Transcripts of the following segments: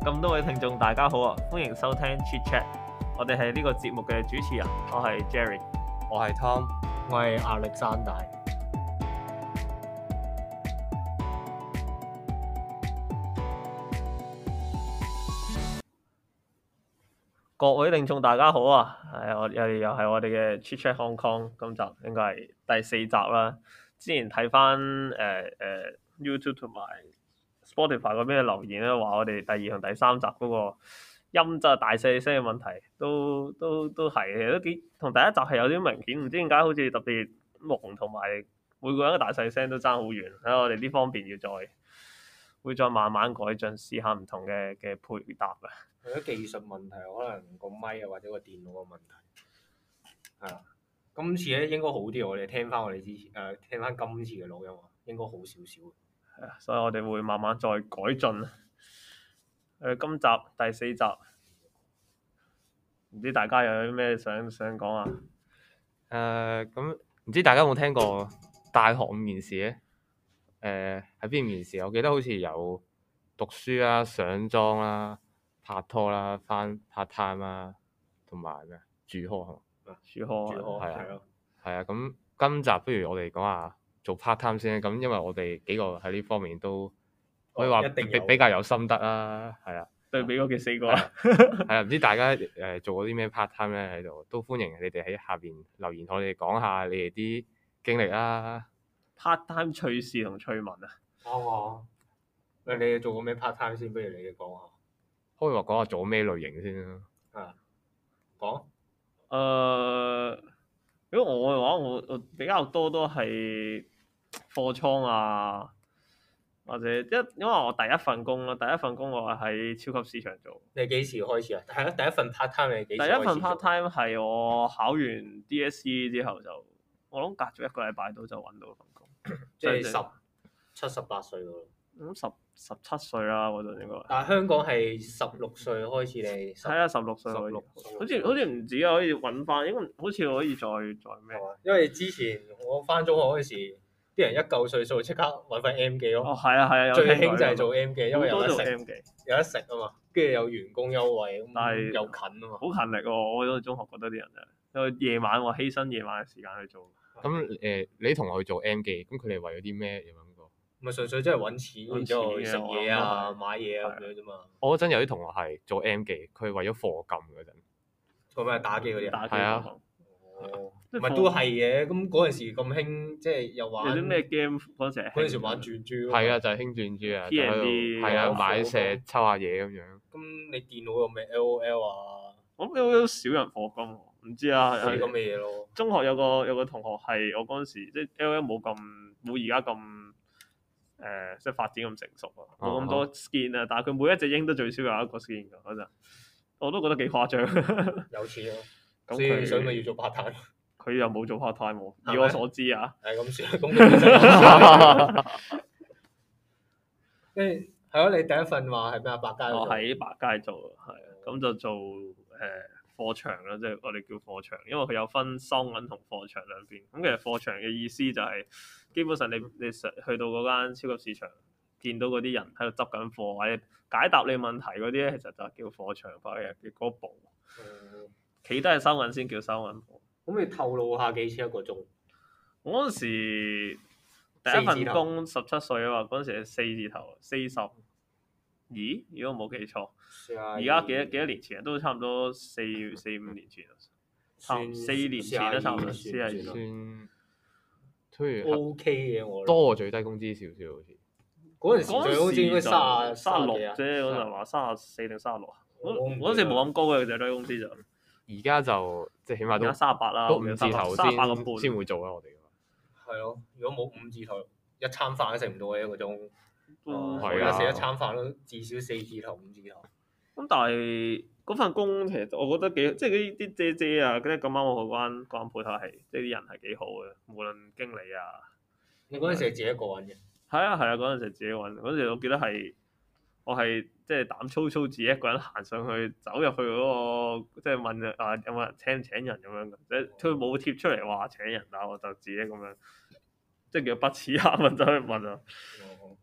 咁多位聽眾大家好啊，歡迎收聽 Chit Chat， 我哋係呢個節目嘅主持人，我係 Jerry， 我係 Tom， 我係亞歷山大。 各位聽眾大家好啊，又係我哋嘅 Chit Chat Hong Kong， 今集應該係第4集啦。之前睇翻YouTube 同埋 Spotify 嗰邊嘅留言咧，話我哋第2同第3集嗰個音質大細聲嘅問題都係嘅，都幾同第一集係有啲明顯，唔知點解好似特別朦，同埋每個人嘅大細聲都爭好遠。喺我哋呢方面會再慢慢改進，試下唔同嘅配搭啊。 為咗技術問題，可能個咪啊或者個電腦嘅問題，係啊。今次咧應該好啲，我哋聽翻我哋之前聽翻今次嘅錄音，應該好少少。 係啊，所以我哋會慢慢再改進。今集第4集，唔知大家有啲咩想講啊？ 咁唔知大家有冇聽過大學面試咧？喺邊面試？我記得好似有讀書啦、上莊啦、拍拖啦、翻 part time 啦，同埋咩住 hall 係嘛？ 住 hall 係啊。咁今集不如我哋講下做 part time 先。咁因為我哋幾個喺呢方面都可以話比較有心得啦。係啊， 對比嗰4個啦。 係啊，唔知大家做過啲咩 part time 咧喺度，都歡迎你哋喺下邊留言，同我哋講下你哋啲經歷啦。 part time 趣事同趣聞啊！ 啱啊！你做過咩 part time 先？不如你哋講下。 可以話講下做咩類型先啦。 啊，講。 如果我嘅話，我比較多都係貨倉啊，或者因為我第一份工我係喺超級市場做。 你幾時開始啊？係啊，第一份 part time 你幾時開始？ 第一份 part time 係我考完 DSE 之後就，我諗隔咗1個禮拜到就揾到份工。 即係17、18歲喎。 咁17歲啦嗰陣應該。 但係香港係16歲開始你。 係啊，16歲可以。好似唔止啊，可以揾翻，應該好似可以再咩？ 因為之前我翻中學嗰時，啲人一嚿歲數即刻揾翻 M 記咯。 哦，係啊， 最興就係做 M 記，因為有得食， M 記有得食啊嘛，跟住有員工優惠， 但係又近啊嘛。 好勤力喎！我嗰個中學覺得啲人因為夜晚喎，犧牲夜晚嘅時間去做。 咁你同學去做 M 記，咁佢哋為咗啲咩有諗過？ 咪純粹真係揾錢，然之後食嘢啊、買嘢啊咁樣啫嘛。 我嗰陣有啲同學係做 M 記，佢係為咗課金嗰陣。 做咩打機嗰啲啊？ 係啊。 哦。唔係都係嘅，咁嗰陣時咁興，即係又玩。 有啲咩 game 嗰陣時？ 嗰陣時玩轉珠。 係啊，就係興轉珠啊， 就喺度係啊，買石抽下嘢咁樣。 咁你電腦有咩 LOL 啊？ 我諗 LOL 少人課金喎，唔知啊。 係咁嘅嘢咯。 中學有個同學係我嗰陣時，即係 LOL 冇而家咁即係發展咁成熟啊，冇咁多 skin 啊，但係佢每一隻鷹都最少有1個 skin 㗎嗰陣，我都覺得幾誇張。 有錢咯。 咁所以咪要做 part time。 佢又冇做 part time 喎，以我所知啊。 係咁算，咁跟住係咯，你第一份話係咩啊？百佳。 我喺百佳做，係啊，咁就做貨場啦，即係我哋叫貨場，因為佢有分收銀同貨場兩邊。咁其實貨場嘅意思就係基本上你去到嗰間超級市場，見到嗰啲人喺度執緊貨或者解答你問題嗰啲咧，其實就叫貨場，或者叫嗰部。企低係收銀先叫收銀部。 咁你透露下幾錢1個鐘？ 我嗰陣時第一份工17歲啊嘛，嗰陣時係4字頭40。咦？如果我冇記錯，而家幾多年前都差唔多4-5年前啦，差4年前都差唔多42 算，推 OK 嘅我。 多過最低工資少少好似。 嗰陣時最高工資應該 36啫，嗰陣話34定36。嗰陣時冇咁高嘅最低工資就。 而家就即係起碼都 38啦， 都5字頭先會做啦，我哋。 係咯，如果冇5字頭，一餐飯都食唔到嘅1個鐘。 係啊， 食一餐飯都至少4字頭、5字頭。 咁但係嗰份工其實我覺得幾，即係啲姐姐啊，咁啱我嗰間鋪頭係，即係啲人係幾好嘅，無論經理啊。 你嗰陣時係自己一個揾嘅？ 係啊，嗰陣時自己揾。嗰陣時我記得我係即係膽粗粗自己一個人行上去，走入去嗰個，即係問啊有冇人請人咁樣嘅，即係佢冇貼出嚟話請人，但我就自己咁樣，即係叫不恥下問走去問啊。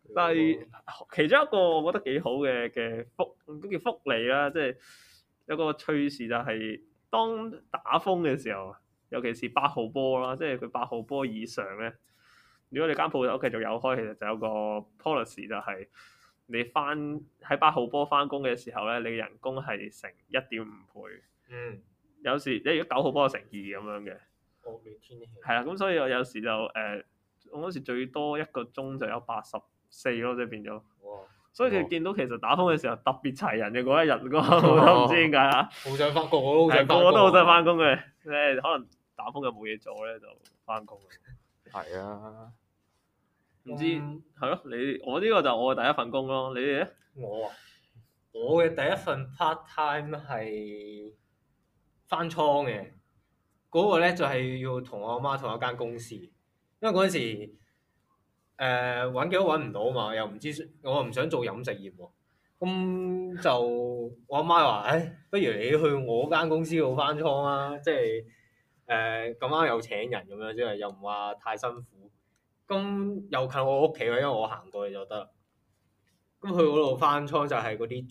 但係其中一個我覺得幾好嘅都叫福利啦，即係有個趣事就係當打風嘅時候，尤其是8號波啦，即係佢8號波以上咧，如果你間鋪頭繼續有開，其實就有個 policy 就係你喺8號波翻工嘅時候咧，你人工係乘1.5倍。有時你如果9號波就乘2咁樣嘅。 惡劣天氣。 係啦，咁所以我有時就我嗰時最多一個鐘就有84咯，即係變咗。 哇！ 所以你見到其實打風嘅時候特別齊人嘅嗰一日，我都唔知點解嚇。 好想翻工，我都好想翻工。 個個都好想翻工嘅，可能打風又冇嘢做咧，就翻工。 係啊， 唔知係咯？我呢個就我嘅第一份工咯，你哋咧？ 我嘅第一份 part time 係翻倉嘅，嗰個咧就係要同我阿媽同一間公司，因為嗰陣時揾幾都揾唔到嘛，又唔知我又唔想做飲食業喎，咁就我阿媽話：不如你去我間公司度翻倉啦，即係咁啱有請人咁樣，即係又唔話太辛苦，咁又近我屋企喎，因為我行過去就得。咁去嗰度翻倉就係嗰啲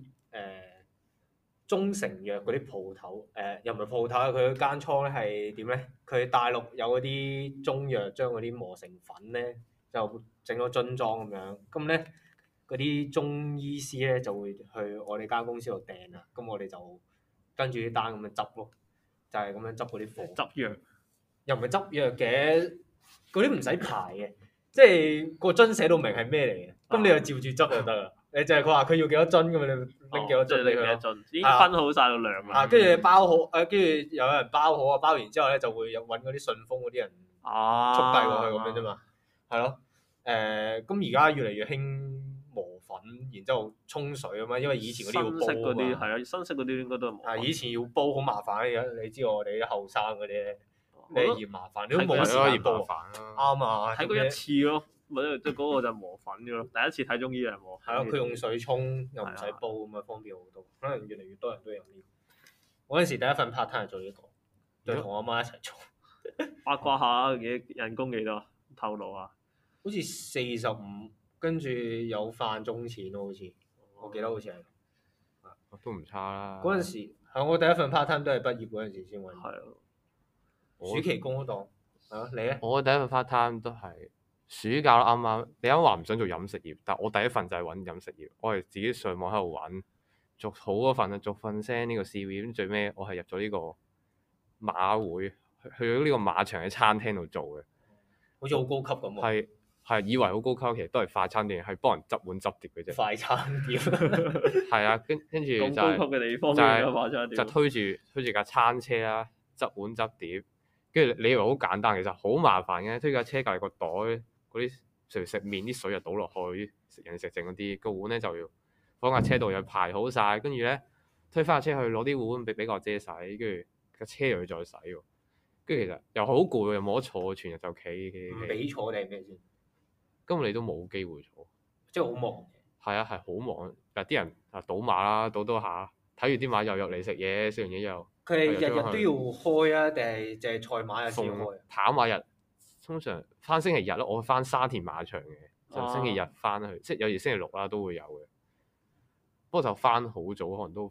中成藥嗰啲鋪頭，又唔係鋪頭，佢間倉咧係點咧？佢大陸有嗰啲中藥，將嗰啲磨成粉咧，就整咗樽裝咁樣。咁咧嗰啲中醫師咧就會去我哋間公司度訂啦。咁我哋就跟住啲單咁樣執咯，就係咁樣執嗰啲貨。 執藥又唔係執藥嘅，嗰啲唔使排嘅，即係個樽寫到明係咩嚟嘅，咁你就照住執就得啦。你就係佢話佢要幾多樽咁，你拎幾多樽俾佢咯。 已經分好晒個量啦。 跟住你包好，跟住有人包好啊，包完之後咧就會有揾嗰啲順豐嗰啲人速遞過去咁樣啫嘛。係咯，咁而家越嚟越興磨粉，然之後沖水啊嘛，因為以前嗰啲要煲啊嘛。 係啊，新式嗰啲應該都係磨粉。 以前要煲好麻煩，而家你知我哋啲後生嗰啲咧，你嫌麻煩，你都冇時間煲。啱啊， 睇過一次咯。即係嗰個就磨粉嘅咯，第一次睇中醫係磨粉。 係咯，佢用水沖又唔使煲咁啊，方便好多。可能越嚟越多人都有呢個。我嗰陣時第一份 part time 係做呢個，就同我阿媽一齊做。 八卦下人工幾多？透露下。 好似45，跟住有飯鐘錢咯，好似我記得好似係。 都唔差啦。 嗰陣時係我第一份 part time 都係畢業嗰陣時先揾。係啊。暑期工嗰檔係咯，你咧？ 我第一份 part time 都係。暑假啱啱，你啱話唔想做飲食業，但我第一份就係揾飲食業，我係自己上網喺度揾，逐好嗰份啊，逐份 send 呢個 CV，咁最尾我係入咗呢個馬會，去咗呢個馬場嘅餐廳度做嘅， 好似好高級咁喎。 係以為好高級，其實都係快餐店，係幫人執碗執碟嘅啫。 快餐店。 係啊，跟住就咁高級嘅地方嘅快餐店。 就推住架餐車啦，執碗執碟，跟住你以為好簡單，其實好麻煩嘅，推架車隔離個袋。嗰啲食麵啲水就倒落去，人食剩嗰啲個碗咧就要放架車度又排好晒，跟住咧推翻架車去攞啲碗俾個姐洗，跟住架車又要再洗喎，跟住其實又好攰，又冇得坐，全日就企。唔俾坐定咩先？ 根本你都冇機會坐， 即係好忙。 係啊，係好忙。嗱啲人啊賭馬啦，賭下，睇住啲馬又入嚟食嘢，食完嘢又。 佢係日日都要開啊，定係淨係賽馬日先開？ 跑馬日。通常翻星期日咯，我翻沙田馬場嘅，就星期日翻去，即係有時星期六啦都會有嘅。不過就翻好早，可能都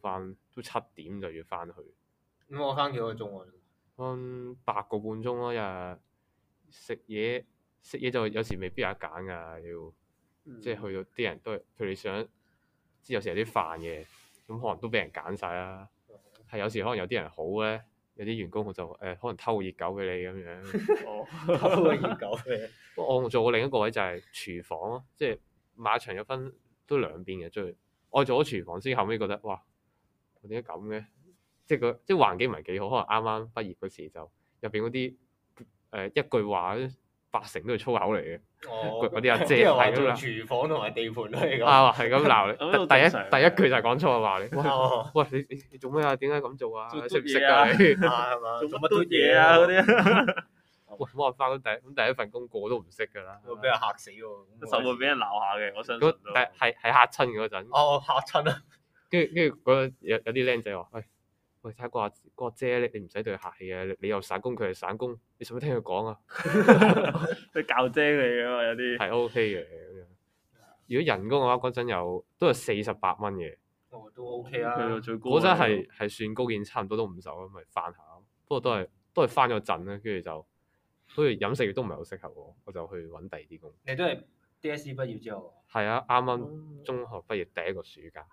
7點就要翻去。 咁我翻幾個鐘啊？ 翻8個半鐘咯，日食嘢就有時未必有得揀㗎，要即係去到啲人都係佢哋想，即係有時有啲飯嘅，咁可能都俾人揀晒啦。係有時可能有啲人好咧。有啲員工就可能偷個熱狗俾你咁樣， 偷個熱狗俾你。 不過我做過另一個位就係廚房咯，即係馬場有分都兩邊嘅，我做咗廚房先，後尾覺得哇，點解咁嘅？即係環境唔係幾好，可能啱啱畢業嗰時就入邊嗰啲一句話80%都係粗口嚟嘅。嗰啲阿姐係咁啦。 廚房同埋地盤都係咁。 係咁鬧你。第一句就係講粗口話你。喂，你做咩啊？點解咁做啊？識唔識啊？你係嘛？做乜都嘢啊？嗰啲。 喂，冇辦法，第一份工個個都唔識㗎啦。 會俾人嚇死喎！ 實會俾人鬧下嘅，我相信。 係嚇親嗰陣。 嚇親啊！ 跟住嗰有啲僆仔話：喂，睇下個阿姐你唔使對佢客氣嘅，你又散工，佢係散工，你使唔使聽佢講啊？ 佢教姐嚟㗎嘛，有啲。 係 OK 嘅咁樣。 如果人工嘅話，嗰陣都係48蚊嘅。 都 OK 啊。 最高嗰陣係算高件，差唔多都50咯，咪翻下。不過都係翻咗陣啦，跟住就好似飲食業都唔係好適合我，我就去揾第二啲工。 你都係 DSE 畢業之後？ 係啊，啱啱中學畢業第一個暑假。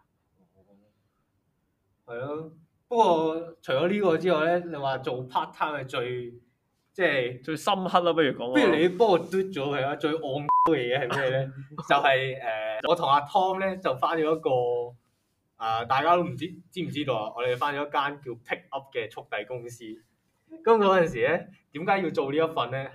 係咯，不過除咗呢個之外咧，你話做 part time 係最深刻啦，不如講。 不如你幫我嘟咗佢啊！最戇嘅嘢係咩咧？就係我同阿 Tom 咧就翻咗一個大家都唔知唔知道啊！我哋翻咗一間叫 Pick Up 嘅速遞公司。咁嗰陣時咧，點解要做呢一份咧？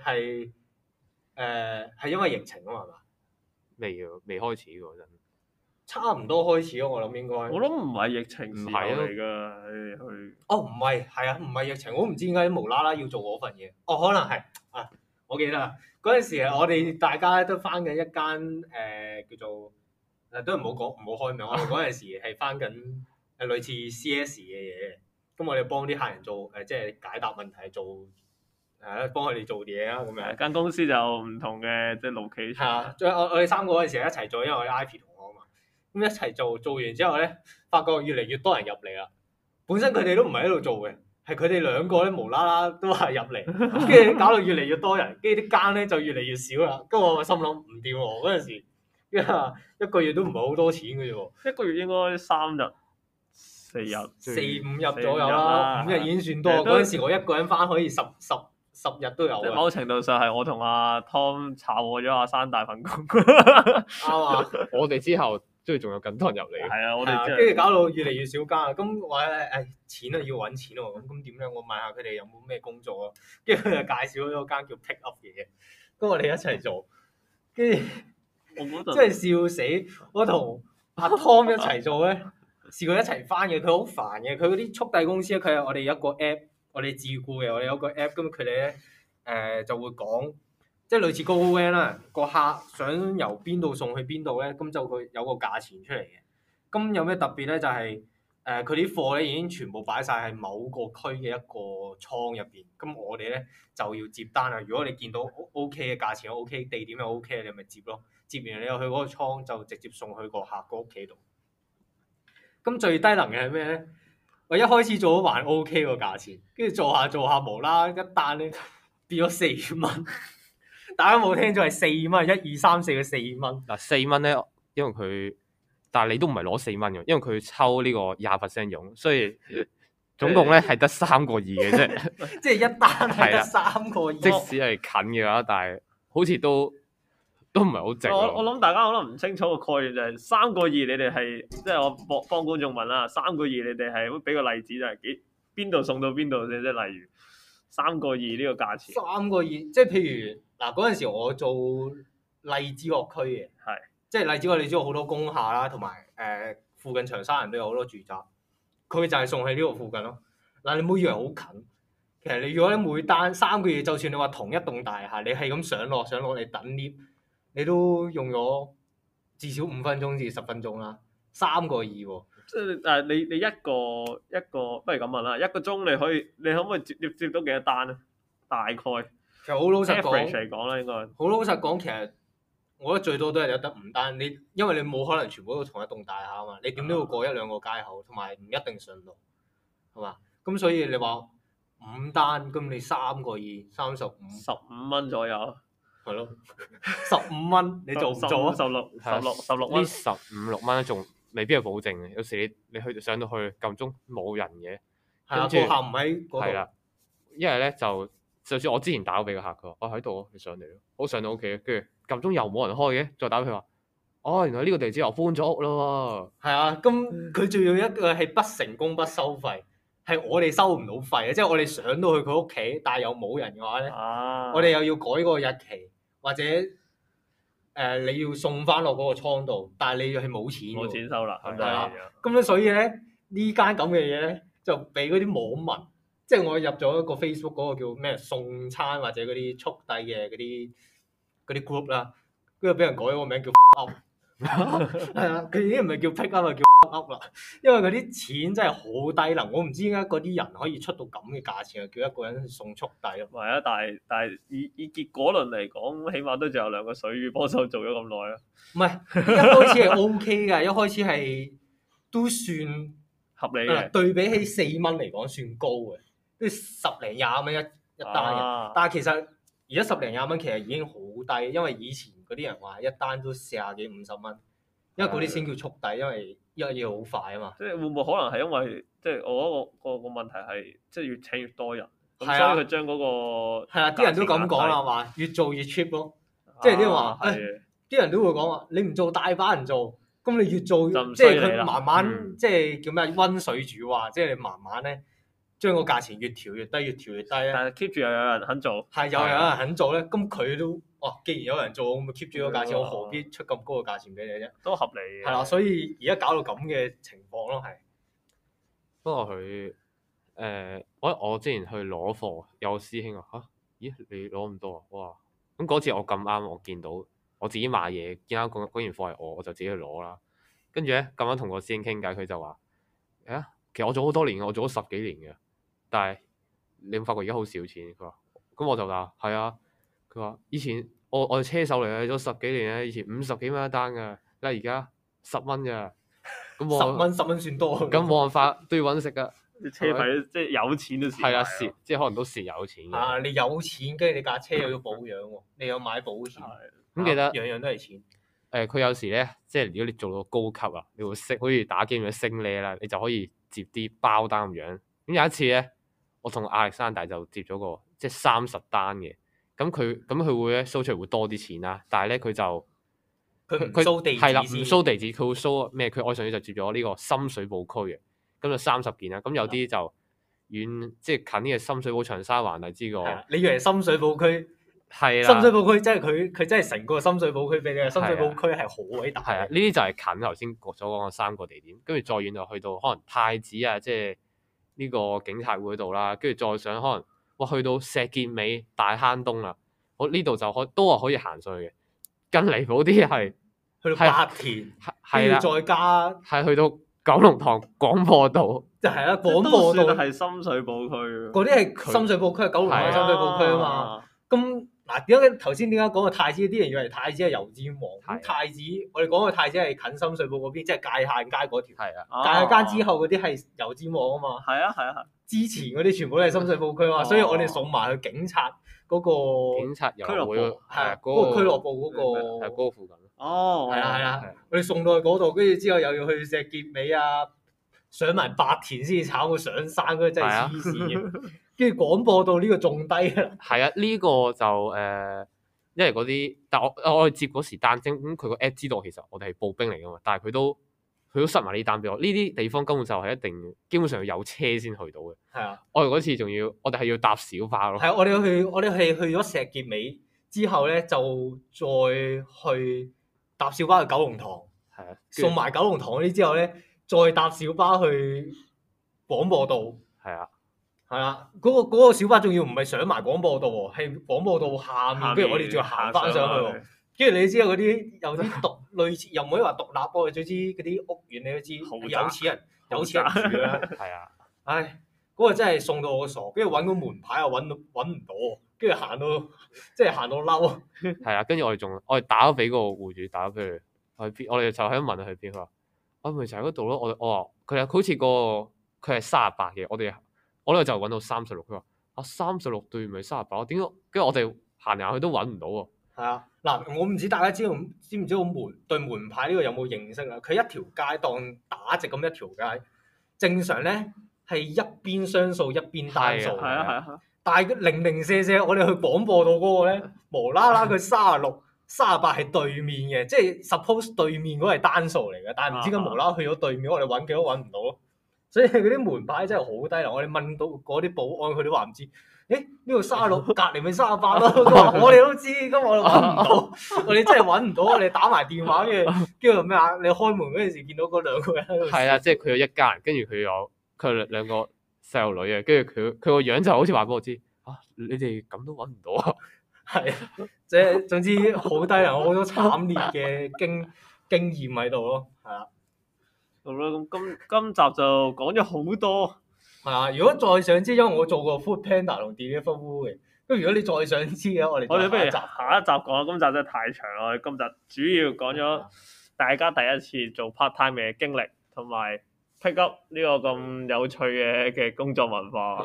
係因為疫情啊嘛，係嘛？ 未開始嗰陣。 差唔多開始咯，我諗應該。 我諗唔係疫情時候嚟㗎， 哦，唔係，係啊，唔係疫情，我唔知點解無啦啦要做嗰份嘢。哦，可能係啊，我記得啦。嗰陣時我哋大家都翻緊一間叫做都唔好講，唔好開名。我哋嗰陣時係翻緊類似 CS 嘅嘢，咁我哋幫啲客人做即係解答問題，幫佢哋做嘢啊咁樣。 間公司就唔同嘅，即係 location。係啊，我哋3個嗰陣時一齊做，因為我哋 Ivy 同我啊嘛。咁一齊做完之後咧，發覺越嚟越多人入嚟啦。本身佢哋都唔係喺度做嘅，係佢哋兩個咧無啦啦都係入嚟，跟住搞到越嚟越多人，跟住啲間咧就越嚟越少啦。跟住我心諗唔掂喎，嗰陣時，因為一個月都唔係好多錢嘅啫喎。 一個月應該3日、4日、 4-5日左右啦，5日已經算多。嗰陣時我一個人翻可以十日都有。 某程度上係我同阿 Tom 炒過咗阿山大份工。 啱啊！ 我哋之後。即係仲有更多人入嚟。 係啊，我哋跟住搞到越嚟越少間啊！咁我錢啊要揾錢喎，咁點咧？我問下佢哋有冇咩工作啊？跟住佢就介紹咗間叫 Pick Up 嘅嘢，咁我哋一齊做，跟住真係笑死！我同阿 Tom 一齊做咧，試過一齊翻嘅，佢好煩嘅。佢嗰啲速遞公司咧，佢係我哋一個 app，我哋自僱嘅，我哋有個 app，咁佢哋咧就會講。即係類似 GoGoVan 啦，個客想由邊度送去邊度咧，咁就佢有個價錢出嚟嘅。咁有咩特別咧？就係佢啲貨咧已經全部擺晒喺某個區嘅一個倉入邊。咁我哋咧就要接單啦。如果你見到 OK 嘅價錢 OK， 地點又 OK，你咪接咯。接完你又去嗰個倉就直接送去個客個屋企度。咁最低能嘅係咩咧？我一開始做咗還 OK 個價錢，跟住做下無啦一單咧變咗4蚊。大家冇聽咗係4蚊，1、2、3、4嘅4蚊。 嗱4蚊咧，因為佢，但係你都唔係攞4蚊嘅，因為佢抽呢個20% 佣，所以總共咧係得3個2嘅啫。 即係一單係得3個2。 即使係近嘅話，但係好似都唔係好值。 我諗大家可能唔清楚個概念就係3個2，你哋係即係我幫觀眾問啦，3個2你哋係會俾個例子就係邊度送到邊度先？即係例如3個2呢個價錢。 3個2，即係譬如。嗱嗰陣時我做荔枝角區嘅，即係荔枝角你知道好多工廈啦，同埋附近長沙人都有好多住宅，佢就係送喺呢個附近咯。嗱你唔好以為好近，其實你如果你每單3個月，就算你話同一棟大廈，你係咁上落你等 lift，你都用咗至少5分鐘至10分鐘啦。3個2喎， 即係你一個不如咁問啦，一個鐘你可唔可以接到幾多單咧？大概？ 其實好老實講嚟講啦，應該好老實講，其實我覺得最多都係有得5單。因為你冇可能全部都同一棟大廈啊嘛，你點都要過1、2個街口，同埋唔一定順路，係嘛？咁所以你話5單，咁你3個2 35，15 蚊左右， 係咯，15蚊你做唔做啊 ？16蚊， 呢15、16蚊仲未必係保證嘅。有時你上到去撳鐘冇人嘅， 係啊，個客唔喺嗰度。係啦， 因為咧就算我之前打咗俾個客，佢話我喺度，你上嚟咯。我上到屋企，跟住撳鐘又冇人開嘅，再打俾佢話，原來呢個地址又搬咗屋咯喎。係啊，咁佢仲要一個係不成功不收費，係我哋收唔到費嘅，即係我哋上到去佢屋企，但係又冇人嘅話咧，我哋又要改個日期，或者你要送翻落嗰個倉度，但係你係冇錢。 冇錢收啦， 係啦。咁樣所以咧呢間咁嘅嘢咧，就俾嗰啲網民。即係我入咗一個 Facebook 嗰個叫咩送餐或者嗰啲速遞嘅嗰啲 group 啦，跟住俾人改咗個名叫 up， 係啊，佢已經唔係叫 pick up 啦，叫 up 啦，因為嗰啲錢真係好低能，我唔知點解嗰啲人可以出到咁嘅價錢，叫一個人送速遞咯。 唔係啊，但係以結果論嚟講，起碼都仲有兩個水魚幫手做咗咁耐啊。 唔係一開始係 OK 㗎，一開始係都算合理嘅。 對比起4蚊嚟講算高嘅，即係10零20蚊一單嘅。但係其實而家10零20蚊其實已經好低，因為以前嗰啲人話一單都40幾50蚊，因為嗰啲先叫速遞，因為一嘢好快啊嘛。 即係會唔會可能係因為即係我嗰個問題係即係越請越多人，咁所以佢將嗰個係啊，啲人都咁講啦，話越做越 cheap 咯。即係啲人話，啲人都會講話，你唔做大把人做，咁你越做即係佢慢慢即係叫咩溫水煮蛙，即係你慢慢咧將個價錢越調越低，越調越低咧。 但係 keep 住又有人肯做， 係有人肯做咧，咁佢都既然有人做，咁咪 keep 住個價錢，我何必出咁高嘅價錢俾你啫？ 都合理嘅。 係啦，所以而家搞到咁嘅情況咯，係。 不過佢我之前去攞貨，有師兄話嚇，咦你攞咁多啊？哇！咁嗰次我咁啱，我見到我自己買嘢，見啱嗰件貨係我就自己去攞啦。跟住咧咁啱同個師兄傾偈，佢就話：其實我做好多年，我做咗10幾年嘅，但係你有冇發覺而家好少錢？佢話：咁我就話係啊。佢話以前我哋車手嚟嘅，做10幾年咧，以前50幾蚊一單㗎，但係而家10蚊㗎。咁 10蚊算多。 咁冇辦法都要揾食㗎。 啲車費即係有錢都蝕。係啊，蝕即係可能都蝕有錢嘅。 啊，你有錢，跟住你架車又要保養喎，你又買保險， 咁記得樣樣都係錢。 佢有時咧，即係如果你做到高級啊，你會識好似打機咁樣升呢啦，你就可以接啲包單咁樣。咁有一次咧，我同亞歷山大就接咗個即係30單嘅，咁佢會咧收出嚟會多啲錢啦，但係咧佢就佢唔 show 地址先， 係啦，唔 show地址，佢會 show 咩？佢愛上去就接咗呢個深水埗區嘅，咁就30件啦。咁有啲就遠，即係近啲嘅深水埗、長沙灣荔枝個。 你以為深水埗區？ 係啦， 深水埗區即係佢真係成個深水埗區俾你，深水埗區係好偉大。 係啊，呢啲就係近頭先所講嘅3個地點，跟住再遠就去到可能太子啊，即係呢個警察會度啦，跟住再上可能去到石硤尾、大坑東啦，我呢度就都係可以行上去嘅。更離譜啲係去到白田， 係啦， 再加係去到九龍塘廣播道， 就係啦，廣播道係深水埗區， 嗰啲係深水埗區，九龍塘係深水埗區啊嘛。咁嗱，點解頭先點解講個太子？啲人以為太子係油尖旺，咁太子我哋講嘅太子係近深水埗嗰邊，即係界限街嗰條。 係啊， 界限街之後嗰啲係油尖旺啊嘛。 係啊。 之前嗰啲全部都係深水埗區啊嘛，所以我哋送埋去警察嗰個警察遊會， 係嗰個俱樂部嗰個， 係嗰個附近。 哦，係啦，我哋送到去嗰度，跟住之後又要去石硤尾啊，上埋白田先至炒到上山嗰個真係黐線嘅。跟住廣播道呢個仲低啊。 係啊，呢個就因為嗰啲，但我哋接嗰時單精，咁佢個 app 知道其實我哋係步兵嚟噶嘛，但係佢都塞埋呢單俾我。呢啲地方根本就係一定基本上要有車先去到嘅。係啊，我哋嗰次我哋係要搭小巴咯。係啊，我哋係去咗石硤尾之後咧，就再去搭小巴去九龍塘。係啊，送埋九龍塘嗰啲之後咧，再搭小巴去廣播道。係啊。係啦，嗰個小巴仲要唔係上埋廣播道喎，係廣播道下面，跟住我哋仲要行翻上去喎。跟住你知道嗰啲有啲類似，又唔可以話獨立喎，總之嗰啲屋苑你都知，有錢人住啦。係啊，唉，嗰個真係送到我傻，跟住揾個門牌又揾唔到，跟住行到嬲。係啊，跟住我哋打咗俾個戶主，打咗俾佢去邊，我哋就喺度問佢去邊，佢話我咪就喺嗰度咯。我話佢好似佢係38嘅，我呢就揾到36，佢話36對唔係38，點解？跟住我哋行去都揾唔到喎。係啊，嗱，我唔知大家知唔知道對門牌呢個有冇認識啊？佢一條街當打直咁一條街，正常咧係一邊雙數一邊單數。係啊。但係零零舍舍，我哋去廣播道嗰個咧，無啦啦佢36、38係對面嘅，即係 suppose 對面嗰個係單數嚟嘅，但係唔知點解無啦啦去咗對面，我哋揾幾都揾唔到咯。所以嗰啲門牌真係好低能，我哋問到嗰啲保安，佢都話唔知。誒呢度36，隔離咪38咯。佢話我哋都知，咁我哋揾唔到，我哋真係揾唔到。我哋打埋電話，跟住咩啊？你開門嗰陣時見到嗰2個人喺度。係啊，即係佢有一家人，跟住佢有兩個細路女啊，跟住佢個樣就好似話俾我知，你哋咁都揾唔到啊？係，即係總之好低能，好多慘烈嘅經驗喺度咯，係啦。 好啦，咁今集就講咗好多。 係啊，如果再想知，因為我做過 Food Panda 同 Deliveroo 嘅，咁如果你再想知嘅，我哋不如下一集講啦，今集真係太長啦。我哋今集主要講咗大家第一次做 part time 嘅經歷，同埋 pick up 呢個咁有趣嘅工作文化。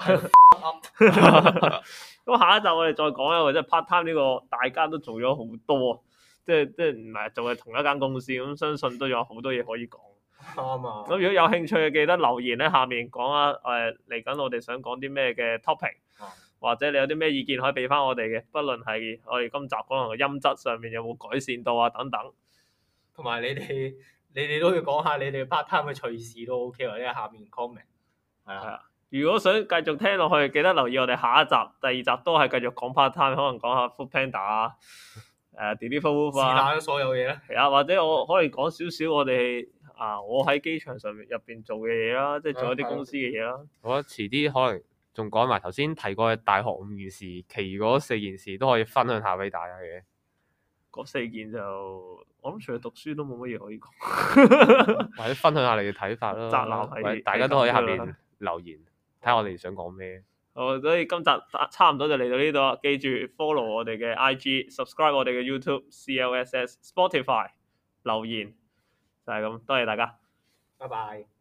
咁下一集我哋再講一個，即係 part time 呢個大家都做咗好多，即係唔係做係同一間公司，咁相信都有好多嘢可以講。 啱啊！ 咁如果有興趣嘅，記得留言喺下面講下嚟緊我哋想講啲咩嘅 topic，或者你有啲咩意見可以俾翻我哋嘅，不論係我哋今集可能個音質上面有冇改善到啊等等。 同埋你哋都要講下你哋 part time 嘅趣事都 OK，或者喺下面 comment。係啊， 如果想繼續聽落去，記得留意我哋下一集、第二集都係繼續講 part time，可能講下 Food Panda 啊、Deliveroo 啊， 是但所有嘢咧。 係啊，或者我可以講少少我哋我喺機場上面入邊做嘅嘢啦，即係做一啲公司嘅嘢啦。 我覺得遲啲可能仲講埋頭先提過嘅大學5件事，其餘嗰4件事都可以分享下俾大家嘅。 嗰4件就我諗除咗讀書都冇乜嘢可以講， 或者分享下你嘅睇法咯。 宅男係大家都可以喺下面留言，睇下我哋想講咩。 好，所以今集差唔多就嚟到呢度啦。記住 follow 我哋嘅 IG，subscribe 我哋嘅 YouTube、CLSS、Spotify 留言。就係咁，多謝大家， 拜拜。